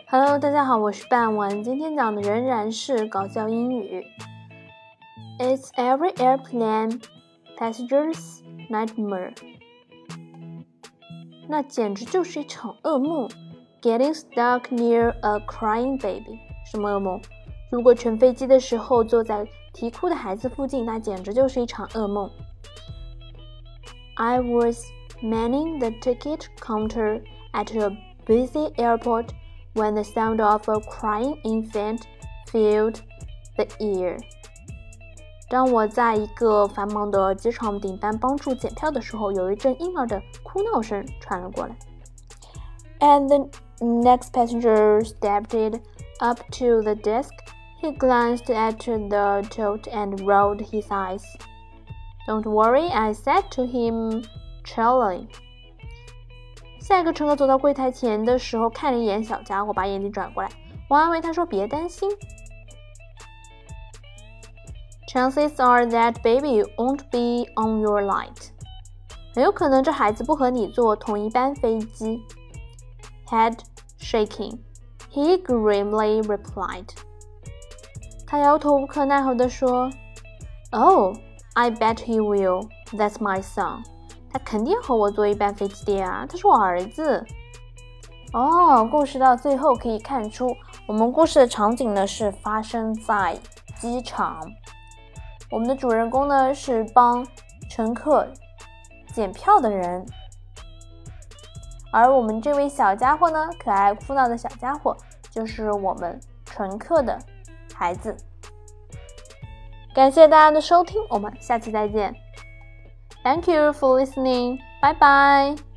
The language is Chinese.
Hello， 大家好，我是半文，今天讲的仍然是搞笑英语。It's every airplane passenger's nightmare. 那简直就是一场噩梦。Getting stuck near a crying baby. 什么噩梦？如果乘飞机的时候坐在啼哭的孩子附近，那简直就是一场噩梦。I was manning the ticket counter at a busy airport when the sound of a crying infant filled the air. 当我在一个繁忙的机场顶单帮助检票的时候，有一阵婴儿的哭闹声传了过来。As the next passenger stepped up to the desk, he glanced at the tote and rolled his eyes. Don't worry, I said to him cheerily. 下一个乘客走到柜台前的时候，看了一眼小家伙，把眼睛转过来，我安慰他说：“别担心。” Chances are that baby won't be on your flight. 很有可能这孩子不和你坐同一班飞机。Head shaking, he grimly replied. 他摇头无可奈何地说 ：“Oh, I bet he will. That's my son.他肯定和我坐一班飞机的啊，他是我儿子。”故事到最后可以看出，我们故事的场景呢是发生在机场。我们的主人公呢是帮乘客检票的人，而我们这位小家伙呢，可爱哭闹的小家伙，就是我们乘客的孩子。感谢大家的收听，我们下期再见。Thank you for listening. Bye bye.